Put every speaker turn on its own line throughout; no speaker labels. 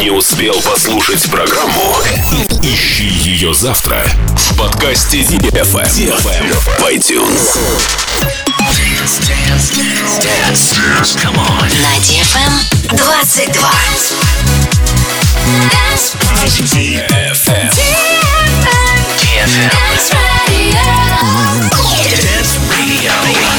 Не успел послушать программу? Ищи ее завтра в подкасте DFM в iTunes. Dance. Come on.
На DFM 22.
DFM.
Dance Radio.
Dance Radio.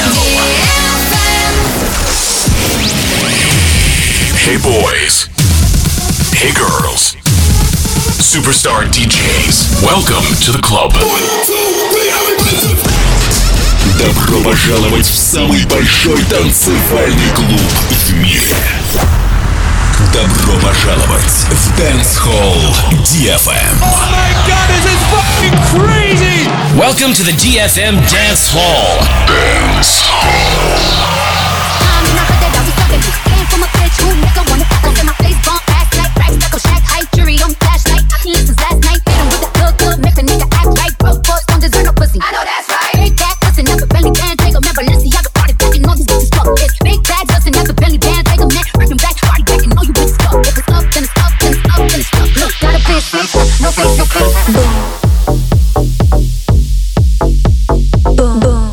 Hey boys. Hey girls. Superstar DJs. Welcome to the club. Добро пожаловать в самый большой танцевальный клуб в мире. Добро пожаловать в Dance Hall DFM.
Oh my god, this is fucking crazy!
Welcome to the DFM Dance Hall.
Dance Hall.
I know that's right. Big back, listen up, belly band, take a man, Balenciaga, party back, and all these bitches fuck. It's big bags, listen up, belly band, take a man, working back, party back, and all you bitches fuck. If it's up, then it's up, then it's up, then it's up. Look, gotta play it safe, no face, no face. Boom, boom,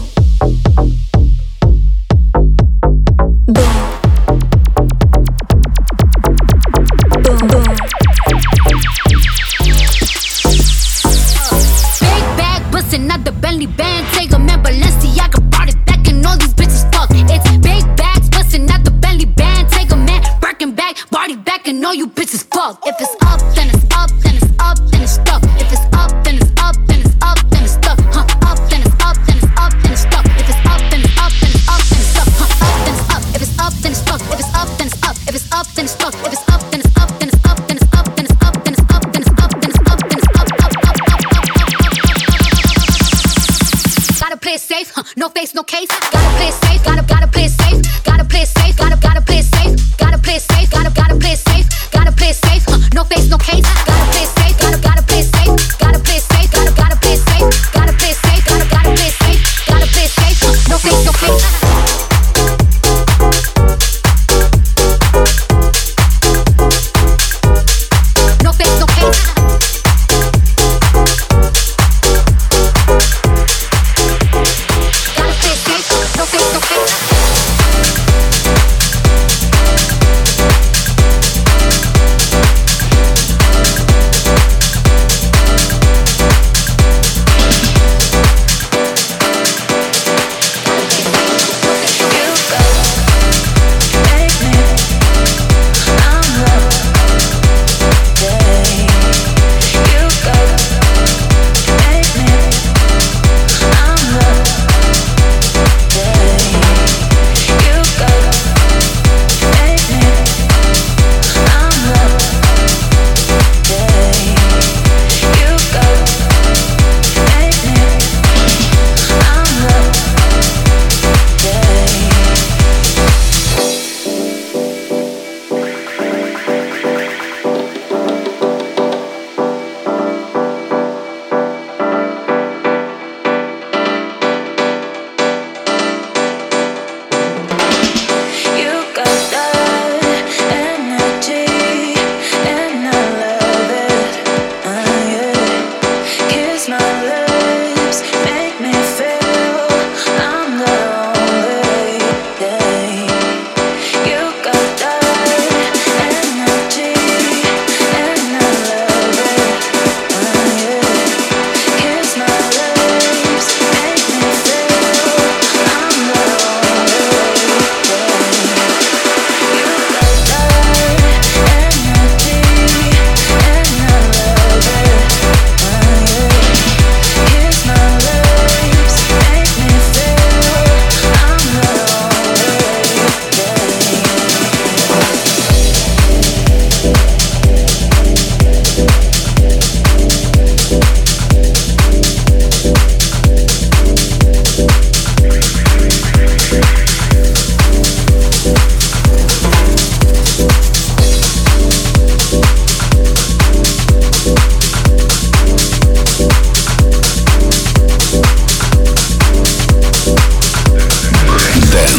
boom, boom, boom. Big bag, bustin' out the belly band, take a man, Balenciaga, party back, and all these bitches fuck. It's big bags, bustin' out the belly band, take a man, working back, party back, and all you bitches fuck. If it's up, then it's up, then it's up, then it's stuck. If it's up, then it's up, then it's up, then it's stuck. Huh, up, then it's up, then it's up, then it's stuck. If it's up, then it's up, then it's up, then it's stuck. Huh, up, then it's up. If it's up, then it's stuck. If it's up, then it's up. If it's up, then it's stuck. If it's up, then it's up, then it's up, then it's up, then it's up, then it's up, then it's up, then it's up, then it's up, up, up, up, up. Gotta play it safe, no face, no case. Gotta play it safe, gotta play it safe. Gotta play it safe, gotta play it safe. Gotta play it safe, gotta play it safe. Gotta play it safe, no face, no case. Gotta play it safe, gotta play it safe. Gotta play it safe, gotta play it safe. Gotta play it safe, gotta play it safe. Gotta play it safe, no face, no case. No face, no case. Gotta play it safe, no face, no case.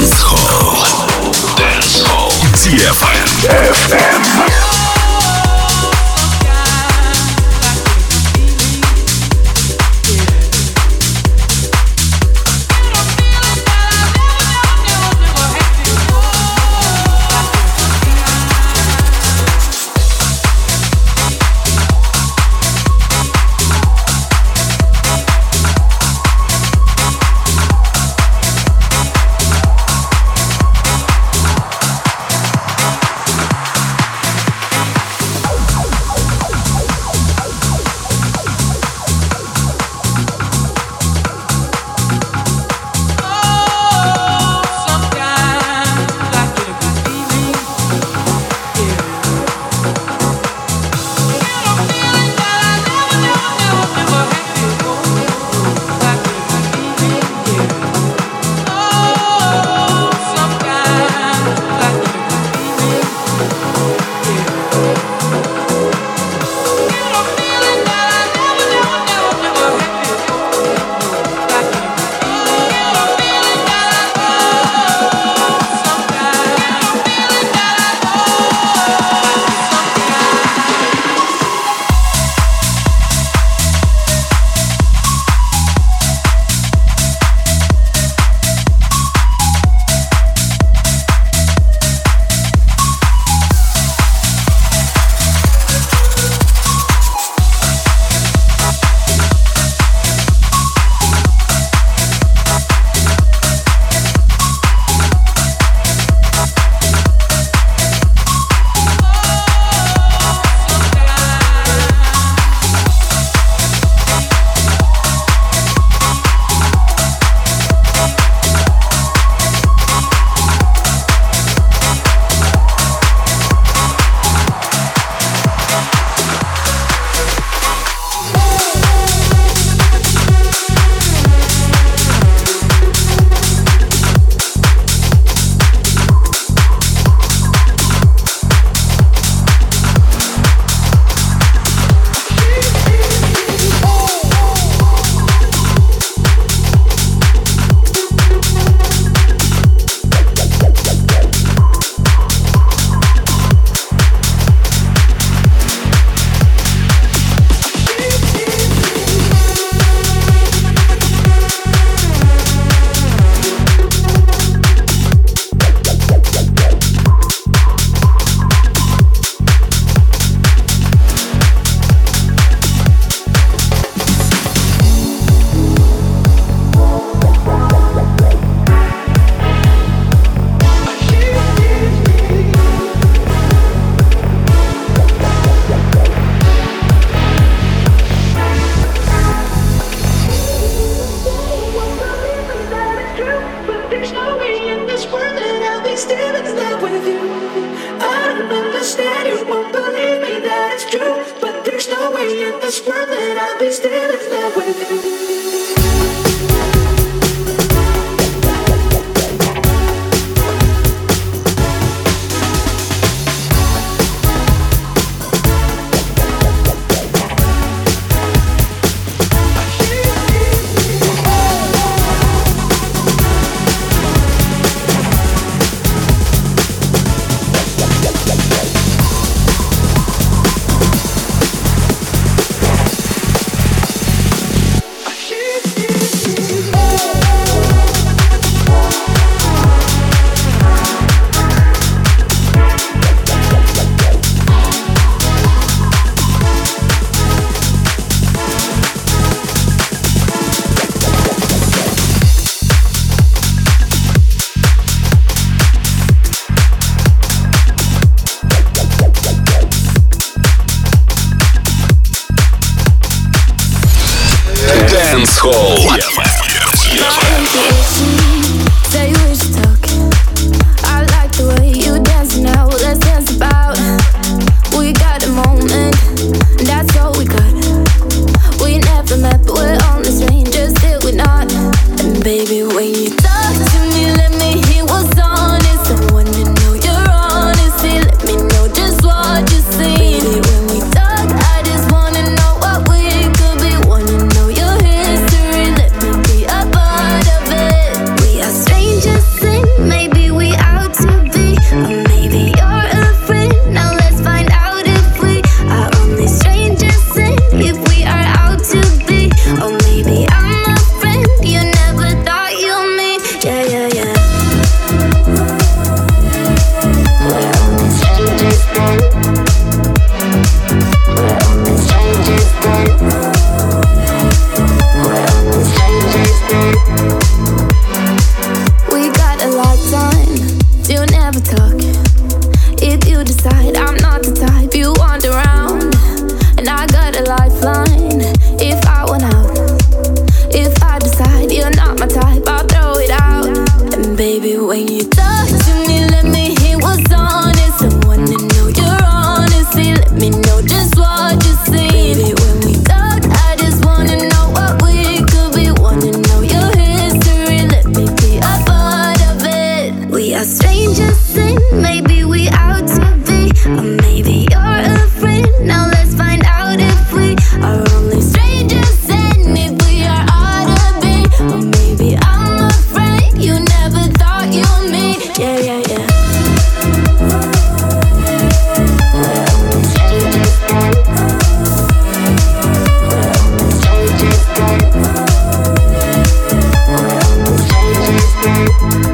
DFM.
love with you. I don't understand, you won't believe me that it's true, but there's no way in this world that I'll be still in love with you.
Dancehall.
Say we should talk. I like the way you dance now. Let's dance about. We got a moment, and that's all we got. We never met, but we're only strangers till we're not. And baby, when you talk to me, let me hear what's honest. I wanna know your honesty. Let me know just what you see. Baby, when we talk, I just wanna know what we could be. Wanna know your history. Let me be a part of it. We are strangers and maybe we out to be. Or maybe you're a friend. Now let's find out if we are only strangers and if we are out to be. Or maybe I'm a friend you never thought you'd meet. Yeah, yeah, yeah. We're only strangers then. We're only strangers then. We're only strangers then. We got a lifetime to never talk. If you decide I'm not the type you want around, and I got a lifeline if I want out. If I decide you're not my type, I'll throw it out. And baby, when you talk to me, let me hear what's honest. I wanna know your honesty. Let me know just what you see. Baby, when we talk, I just wanna know what we could be. Wanna know your history. Let me be a part of it. We are strangers and maybe we out to be. Or maybe you're a friend. Now let's find out if we are only strangers and if we are ought to be. Or maybe I'm a friend you never thought you'd meet. Yeah, yeah, yeah. We're only strangers then. We're only strangers then. We're only strangers then.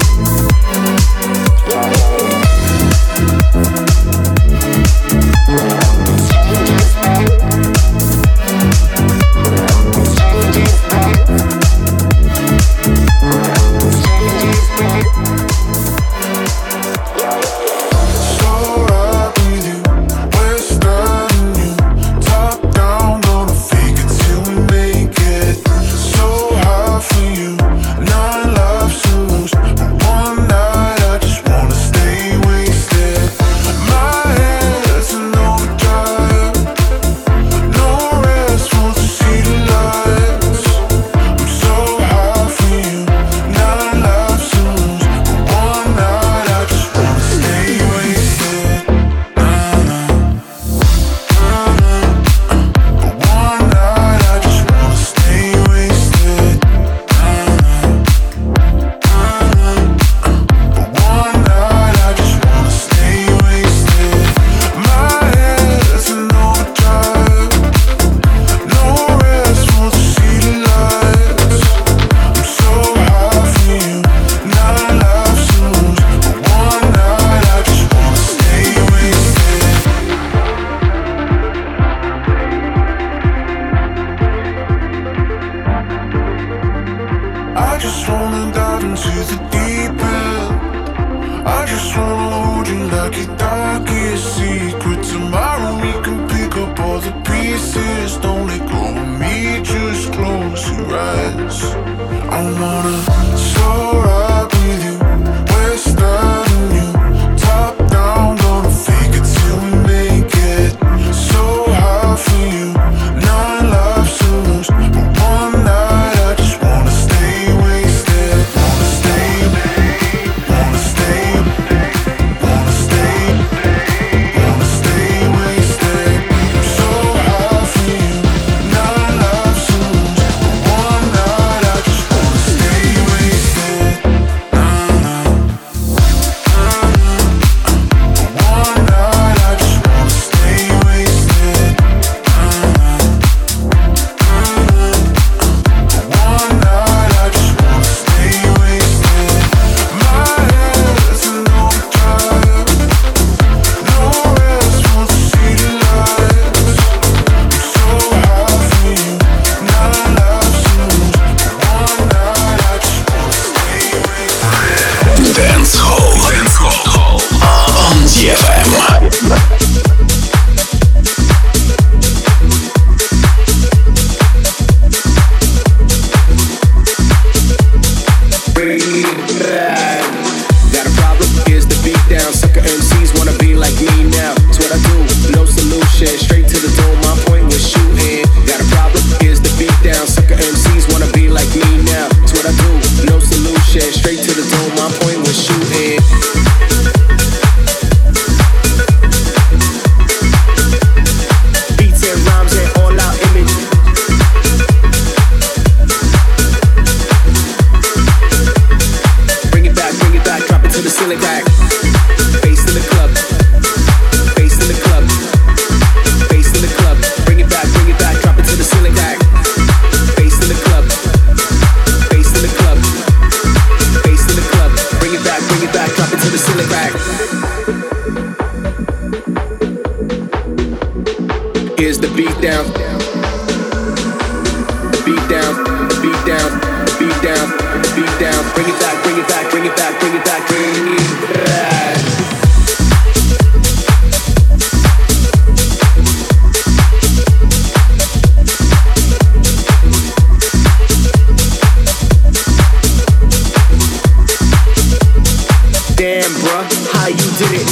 Yeah, yeah, yeah. We're only strangers then. We're only strangers then. We're only strangers then. Yeah, yeah, yeah.
So right with you, we're starting you. Top down, gonna fake it till we make it. So high for you, 9 lives to lose. But one night I just wanna stay wasted. My head's in overdrive. No rest, want to see the lights. I'm so high for you, 9 lives to lose. But one night I just wanna stay wasted. But one night I just wanna stay wasted. But one night I just wanna stay wasted. My head's in overdrive. No rest, want to see the lights. I'm so high for you, 9 lives to lose. But one night I just wanna stay wasted. I just wanna dive into the deep end. I just wanna hold you like your darkest secret. Tomorrow we can pick up all the pieces. Don't let go of me, just close your eyes. I wanna soar up with you. We're starting you.
beat down, beat down, beat down, beat down, beat down. Bring it back, bring it back, bring it back, bring it back, bring it back. Damn, bruh, how you did it?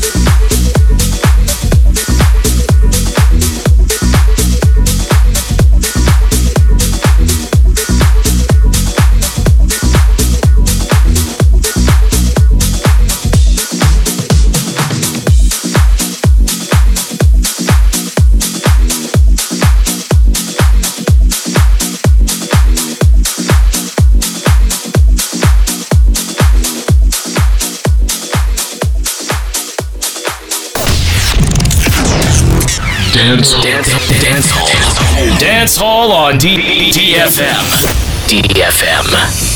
Dance Hall on DFM. DFM.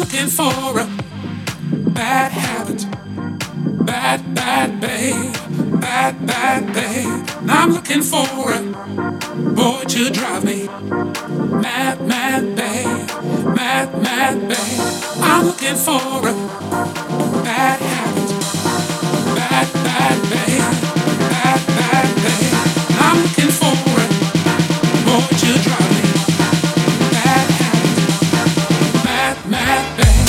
looking for a bad habit. Bad, bad babe. Bad, bad babe. I'm looking for a boy to drive me mad, mad babe. Mad, mad babe. I'm looking for a bad habit. Bad, bad babe. Bad, bad babe. I'm looking for a boy to drive me mad habit. Mad, mad babe.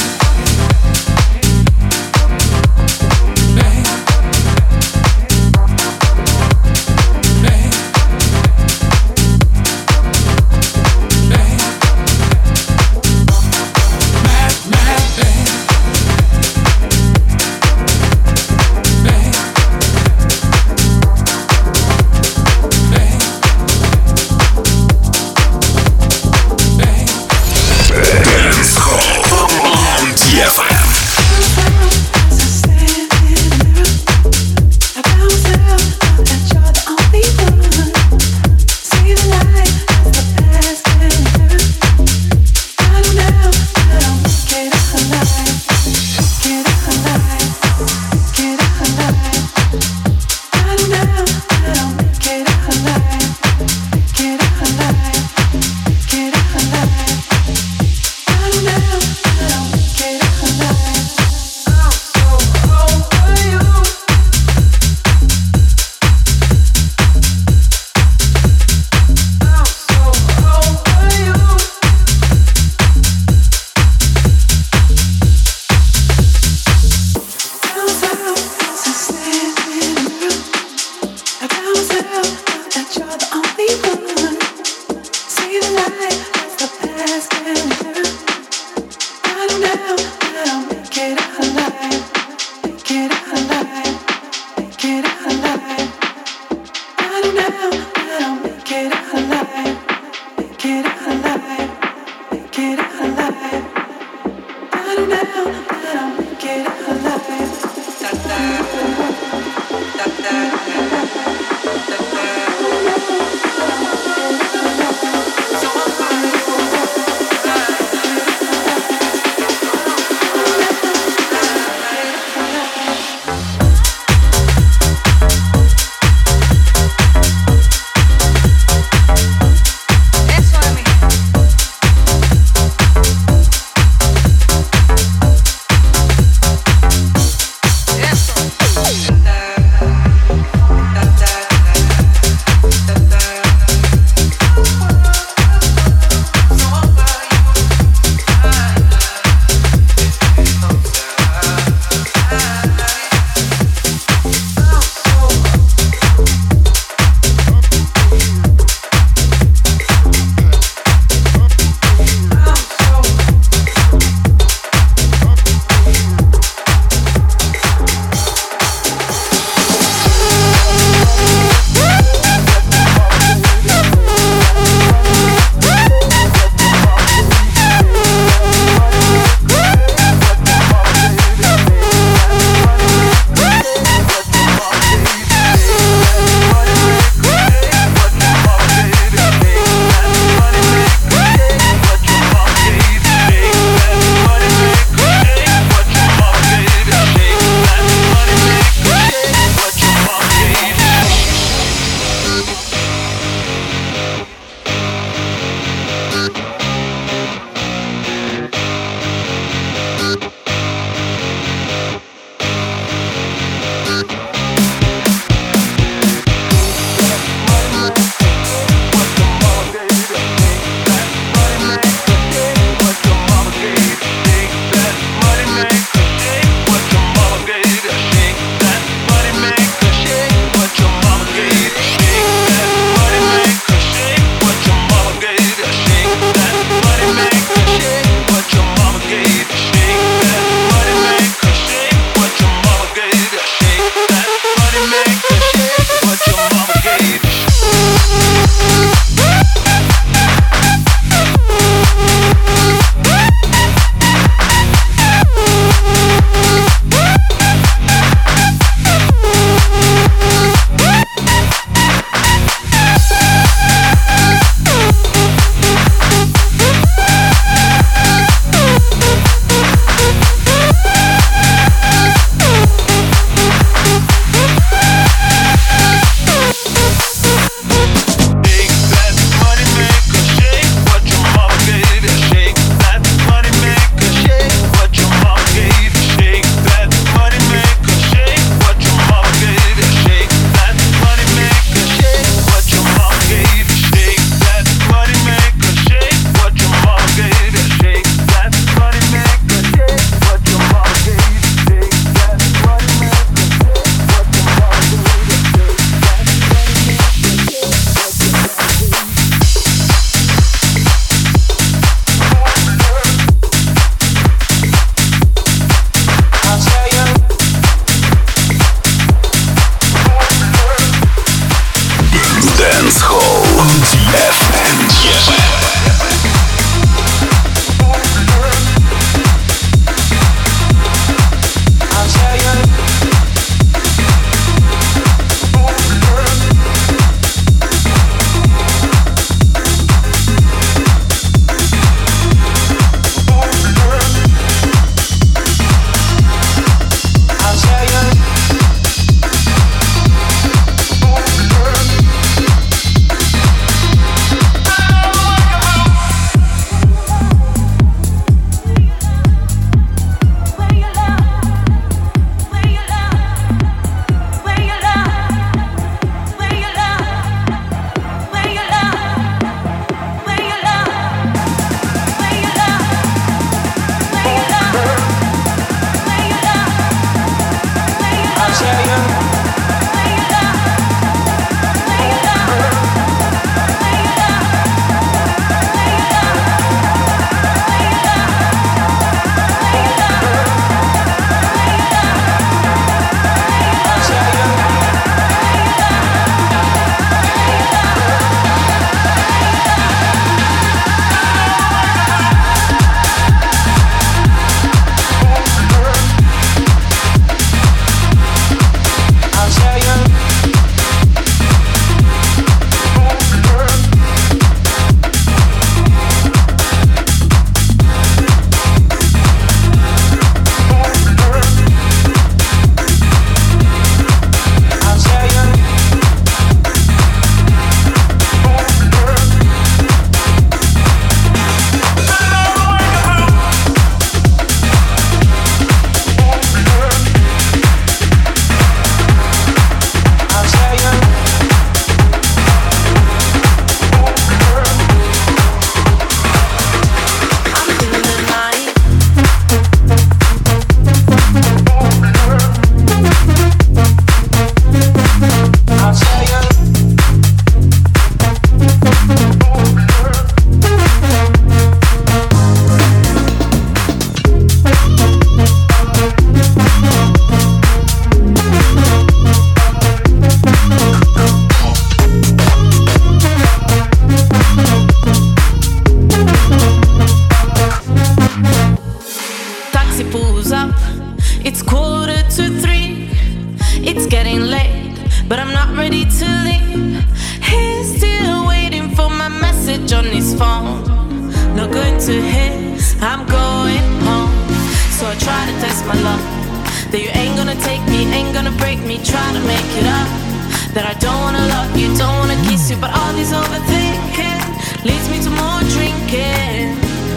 to hit, I'm going home. So I try to test my luck, that you ain't gonna take me, ain't gonna break me, try to make it up. That I don't wanna love you, don't wanna kiss you, but all this overthinking leads me to more drinking.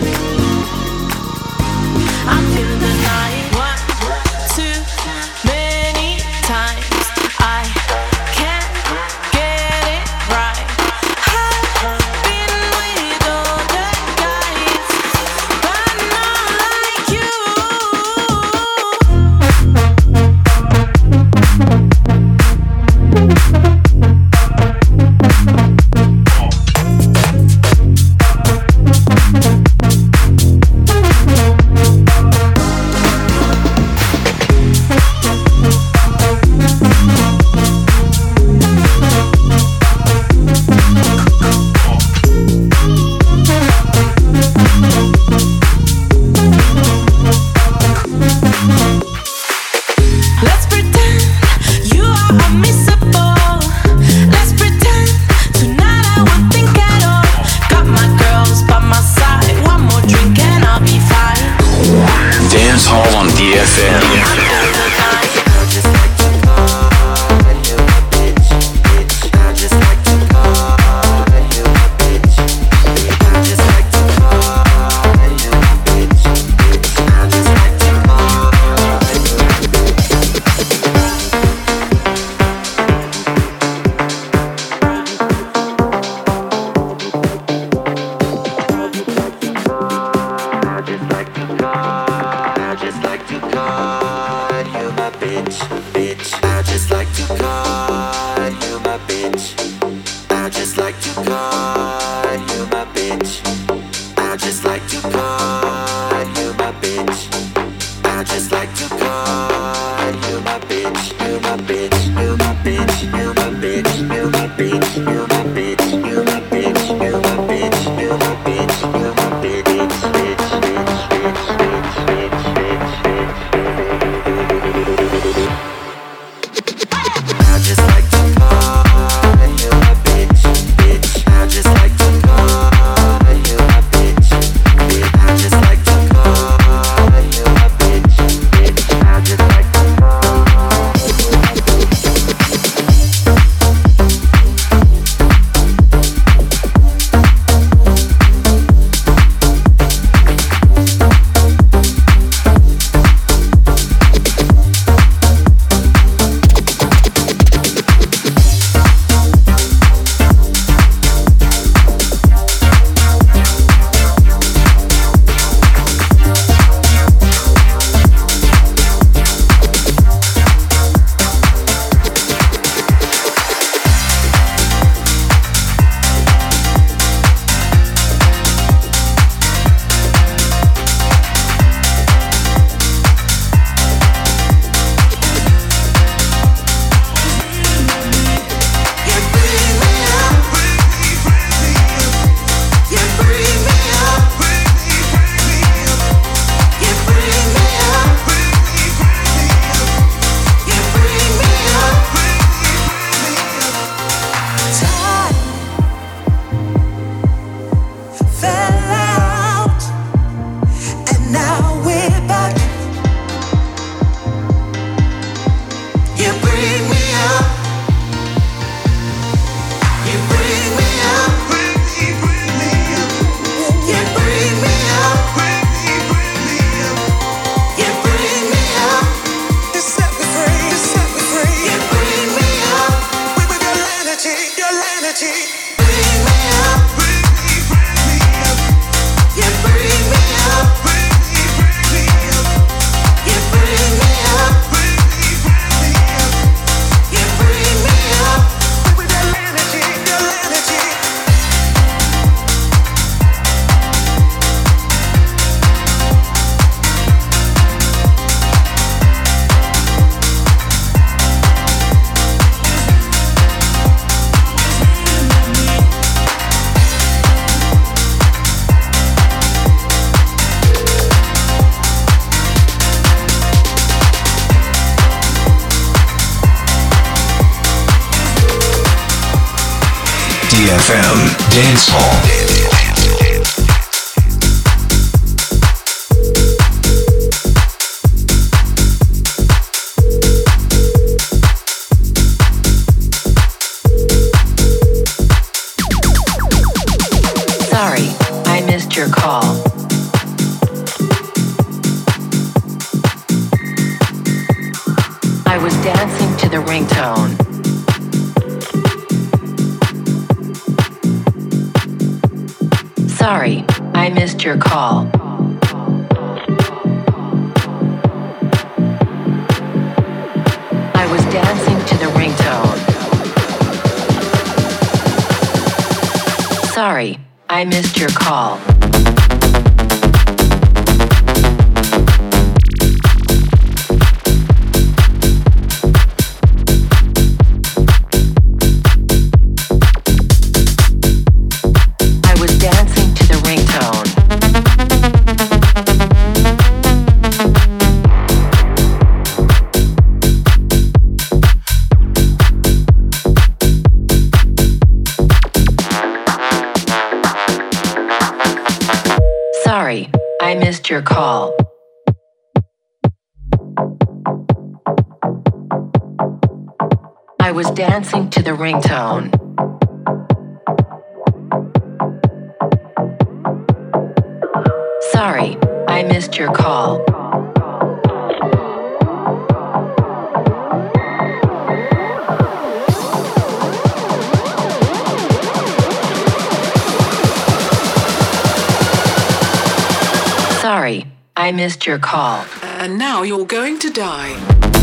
I'm feeling the night, 1, 2, many times. I can't get it right. I've been with other guys, but not like you. Let's pretend you are unmissable. Let's pretend tonight I won't think at all. Got my girls by my side, one more drink and I'll be fine.
Dance Hall on DFM.
DFM Dance Hall.
Sorry, I missed your call. I was dancing to the ringtone. Sorry, I missed your call. Sorry, I missed your call. I was dancing to the ringtone. Sorry, I missed your call. Sorry, I missed your call.
And now you're going to die.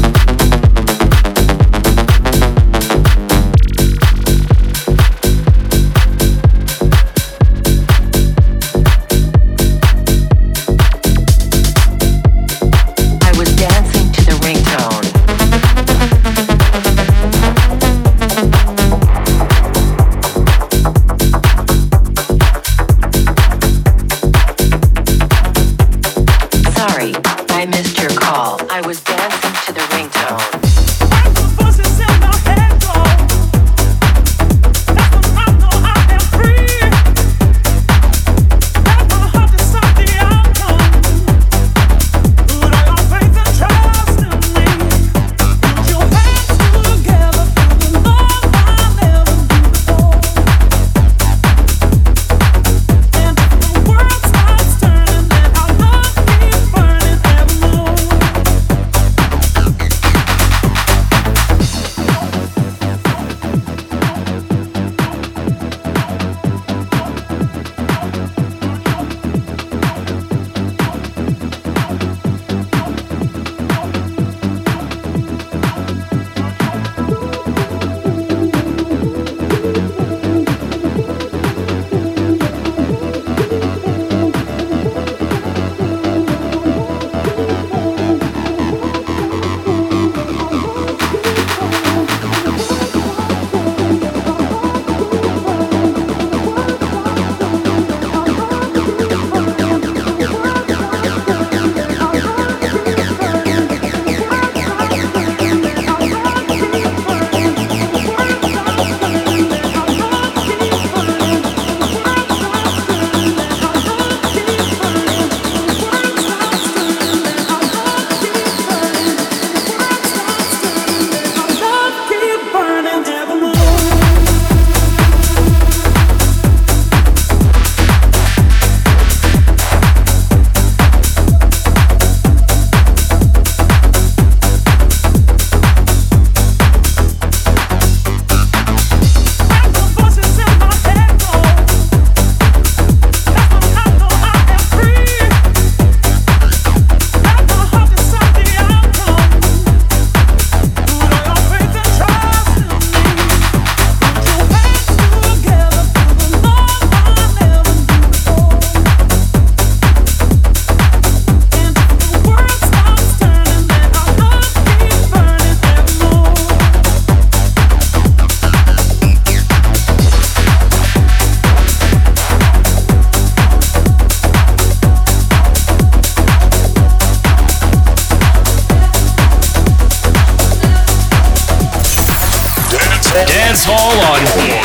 Dance Hall on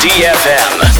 DFM.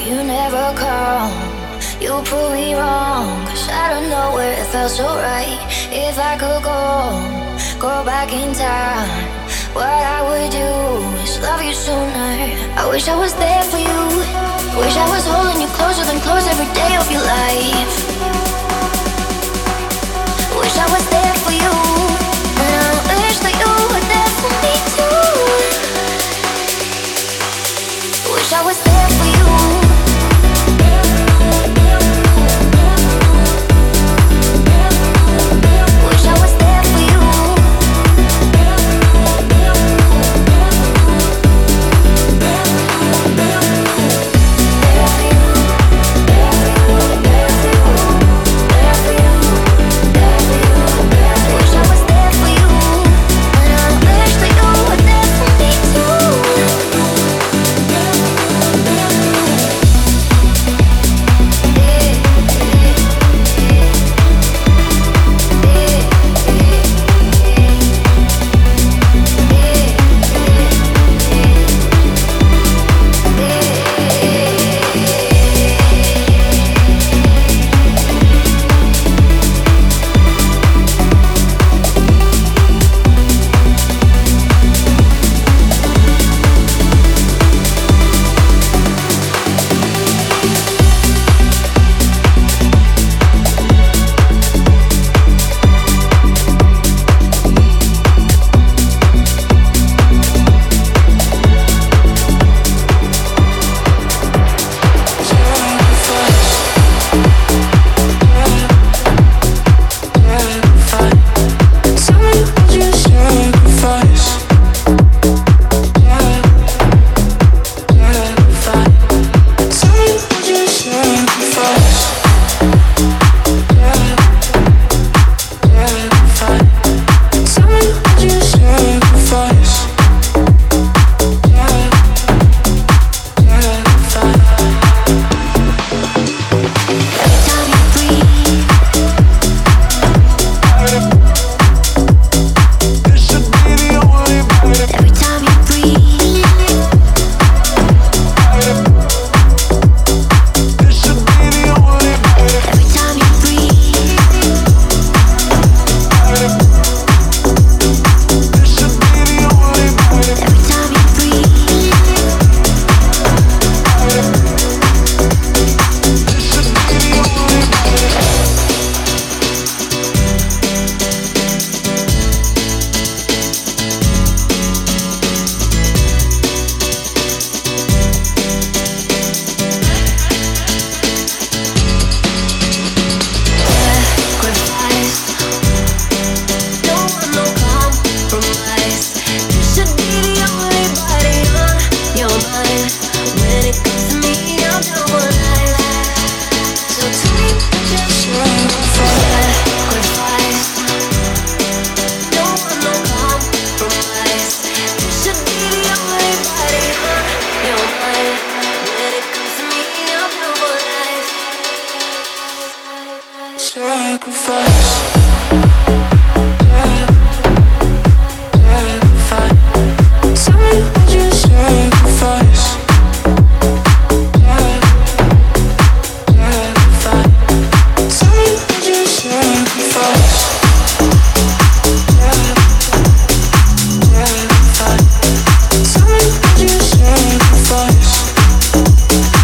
you never come. You prove me wrong, 'cause out of nowhere it felt so right. If I could go back in time, what I would do is love you sooner. I wish I was there for you. Wish I was holding you closer than close every day of your life. Wish I was there for you, and I wish that you were there for me too. Wish I was there for you.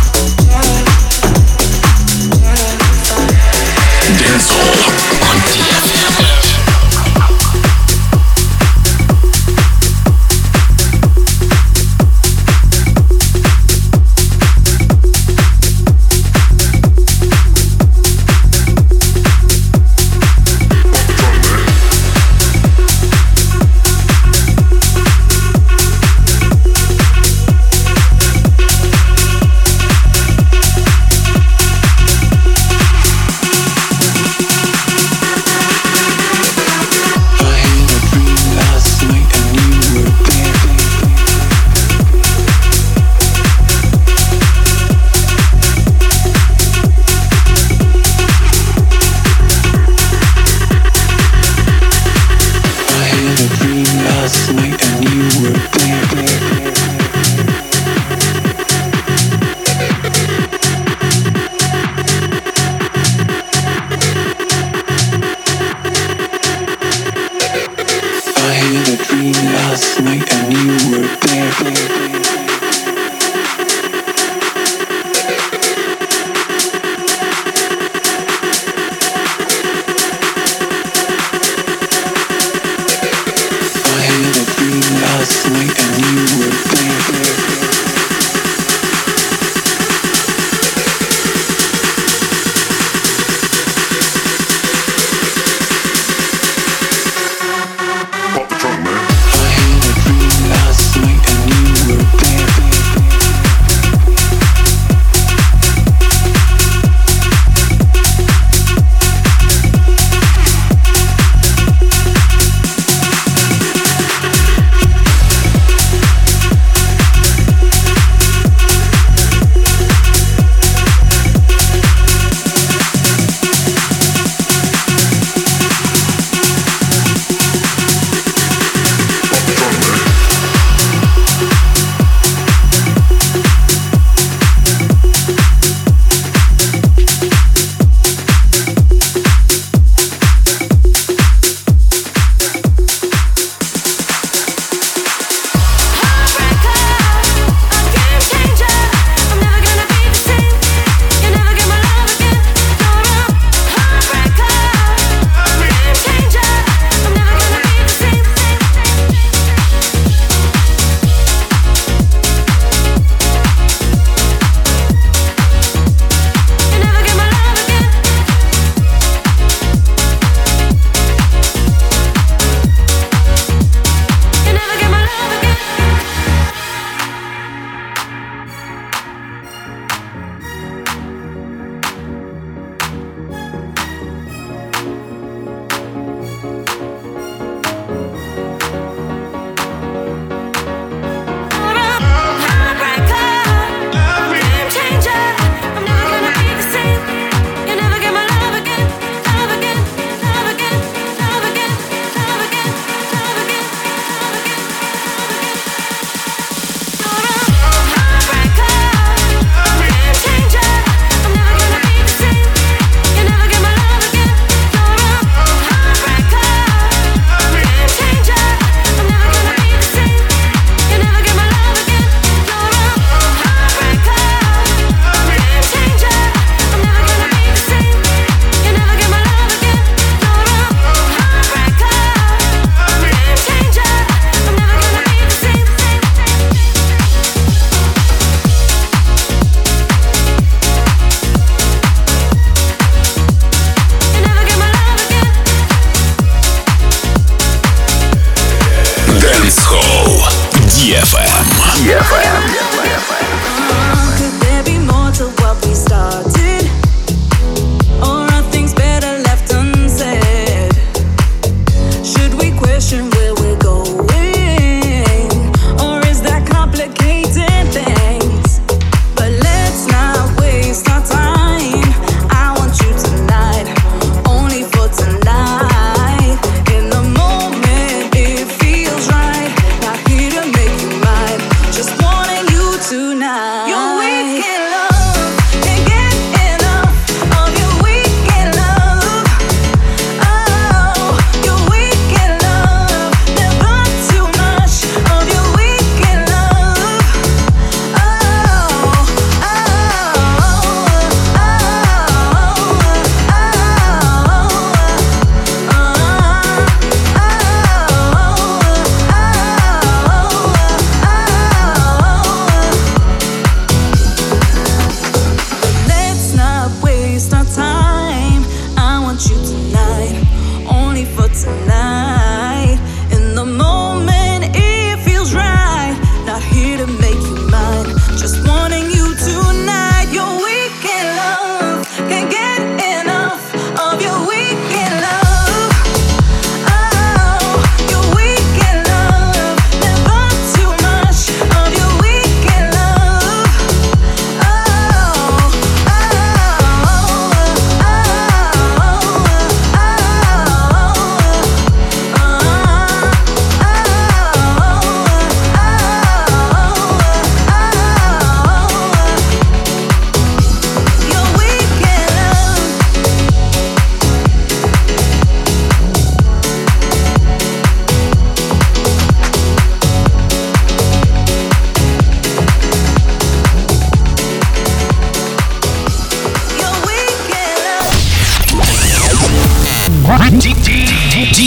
On DFM.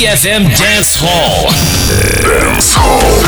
DFM Dance Hall. Dance Hall.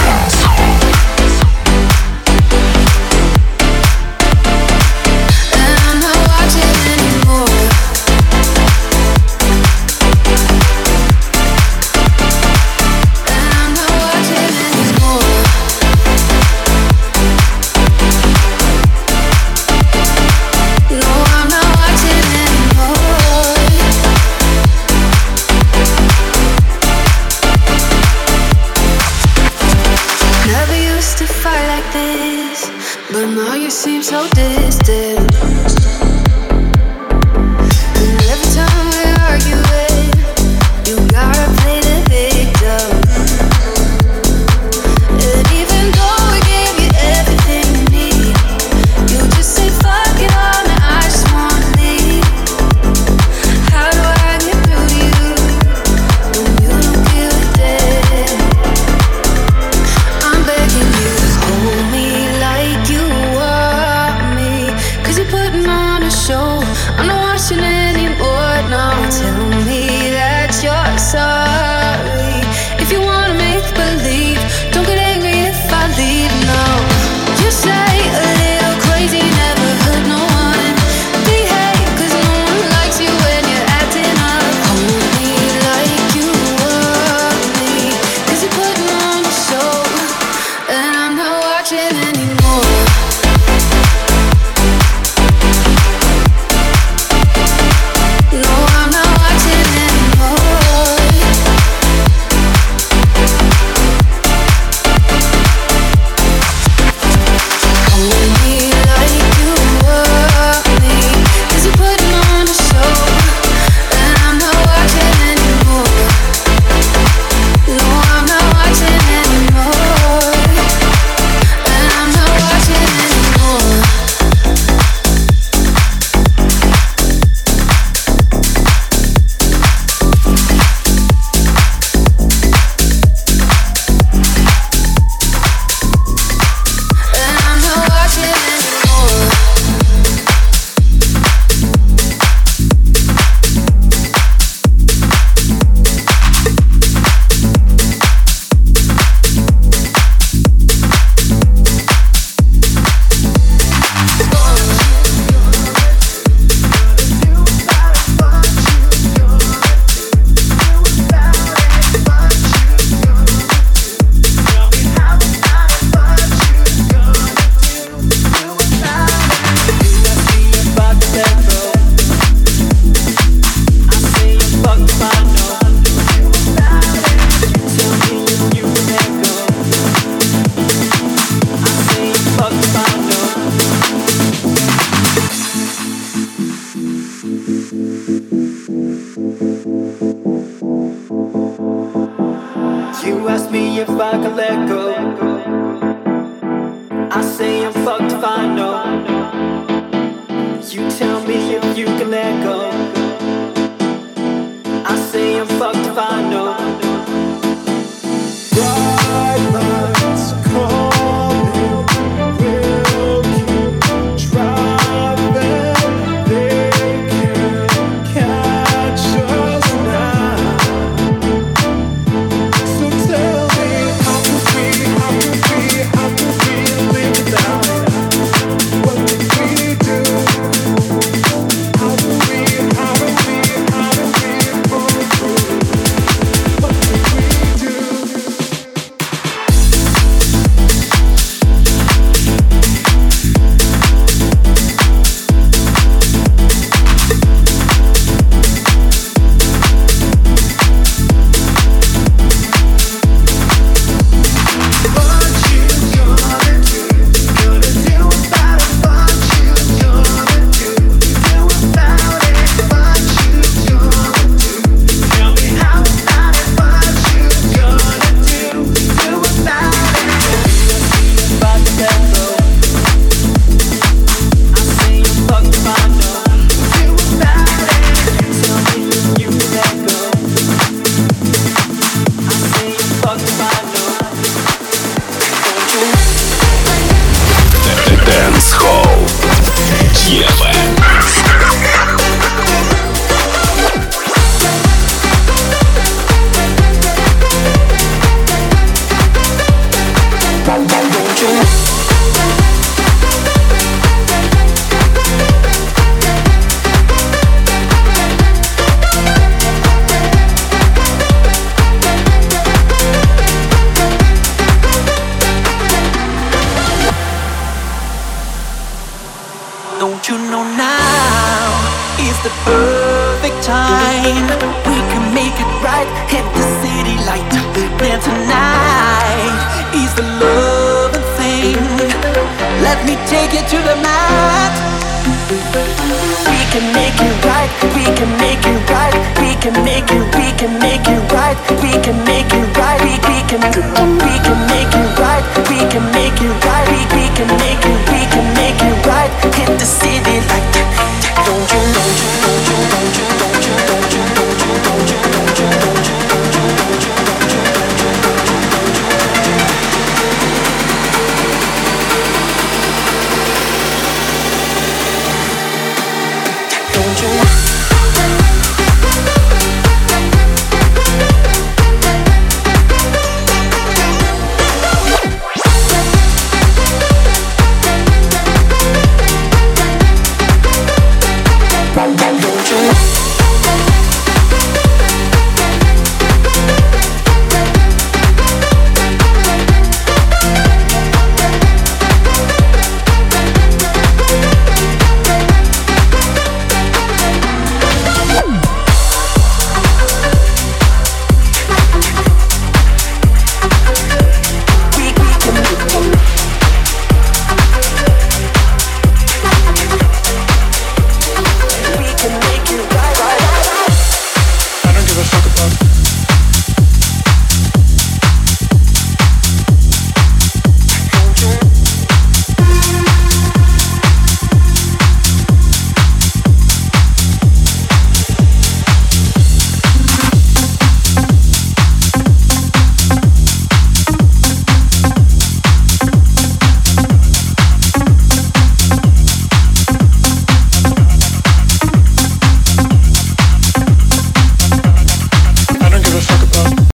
Don't you know now is the perfect time? We can make it right, hit the city light. Then tonight is the loving thing. Let me take you to the mat. We can make it right, we can make it right, we can make it right, we can make it right, we can make it right, we can make it right.